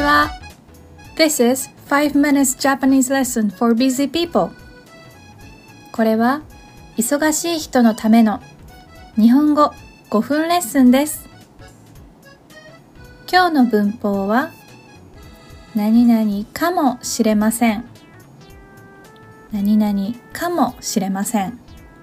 は。This is 5 minutes Japanese lesson for busy people. これは忙しい人のための日本語5分レッスンです。今日の文法は何々かもしれません。何々かもしれません。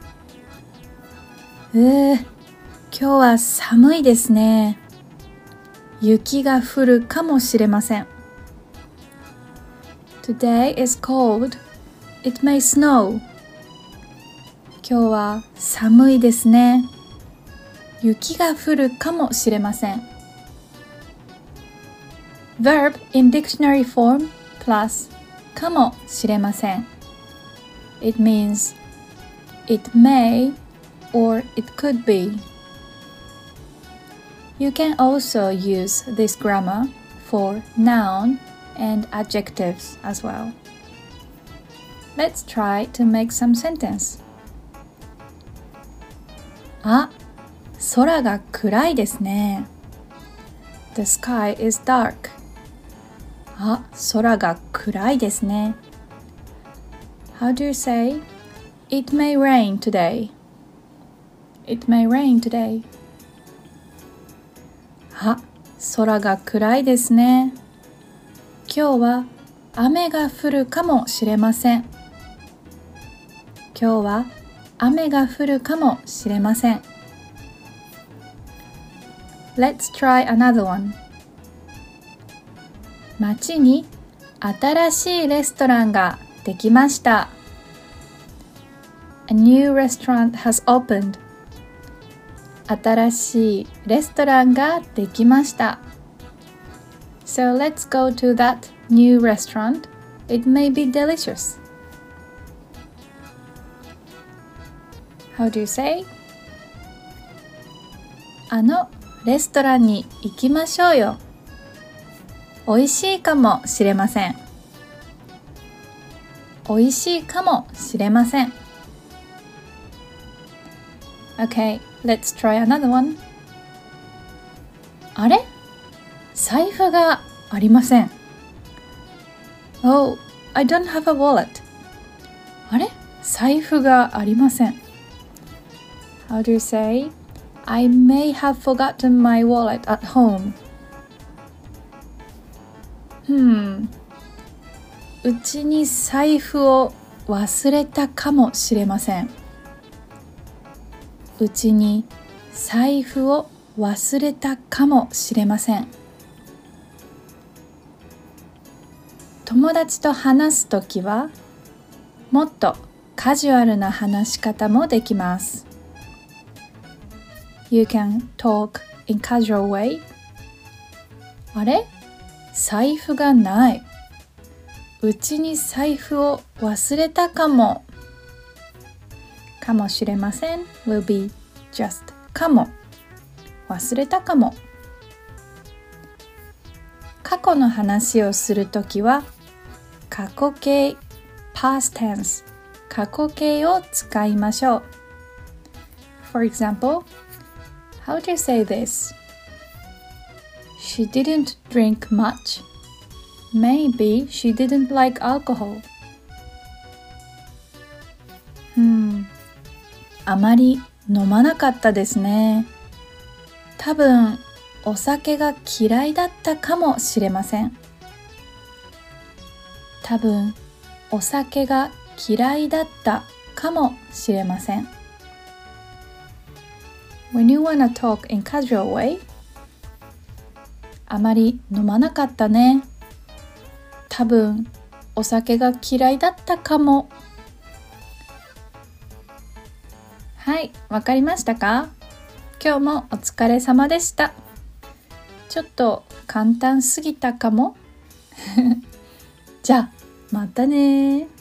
今日は寒いですね。雪が降るかもしれません。Today is cold. It may snow. 今日は寒いですね。雪が降るかもしれません。Verb in dictionary form plus かもしれません。It means it may or it could be. You can also use this grammar for noun and adjectives as well. Let's try to make some sentence. 空が暗いですね。The sky is dark. 空が暗いですね。How do you say, It may rain today? It may rain today. 空が暗いですね。今日は雨が降るかもしれません。今日は雨が降るかもしれません。Let's try another one. 街に新しいレストランができました。A new restaurant has opened. 新しいレストランができました。So let's go to that new restaurant. It may be delicious. How do you say? あのレストランに行きましょうよ。おいしいかもしれません。おいしいかもしれません。Okay, let's try another one. あれ？財布がありません。Oh, I don't have a wallet. あれ？財布がありません。How do you say? I may have forgotten my wallet at home. うちに財布を忘れたかもしれません。うちに財布を忘れたかもしれません。友達と話すときはもっとカジュアルな話し方もできます。You can talk in casual way. あれ？財布がない。うちに財布を忘れたかも。かもしれません will be just かも。忘れたかも。過去の話をするときは過去形 past tense 過去形を使いましょう。For example, how do you say this? She didn't drink much. Maybe she didn't like alcohol. あまり飲まなかったですね。多分お酒が嫌いだったかもしれません。多分お酒が嫌いだったかもしれません。When you wanna talk in casual way, あまり飲まなかったね。多分お酒が嫌いだったかも。はい、わかりましたか？今日もお疲れ様でした。ちょっと簡単すぎたかも。じゃあまたね。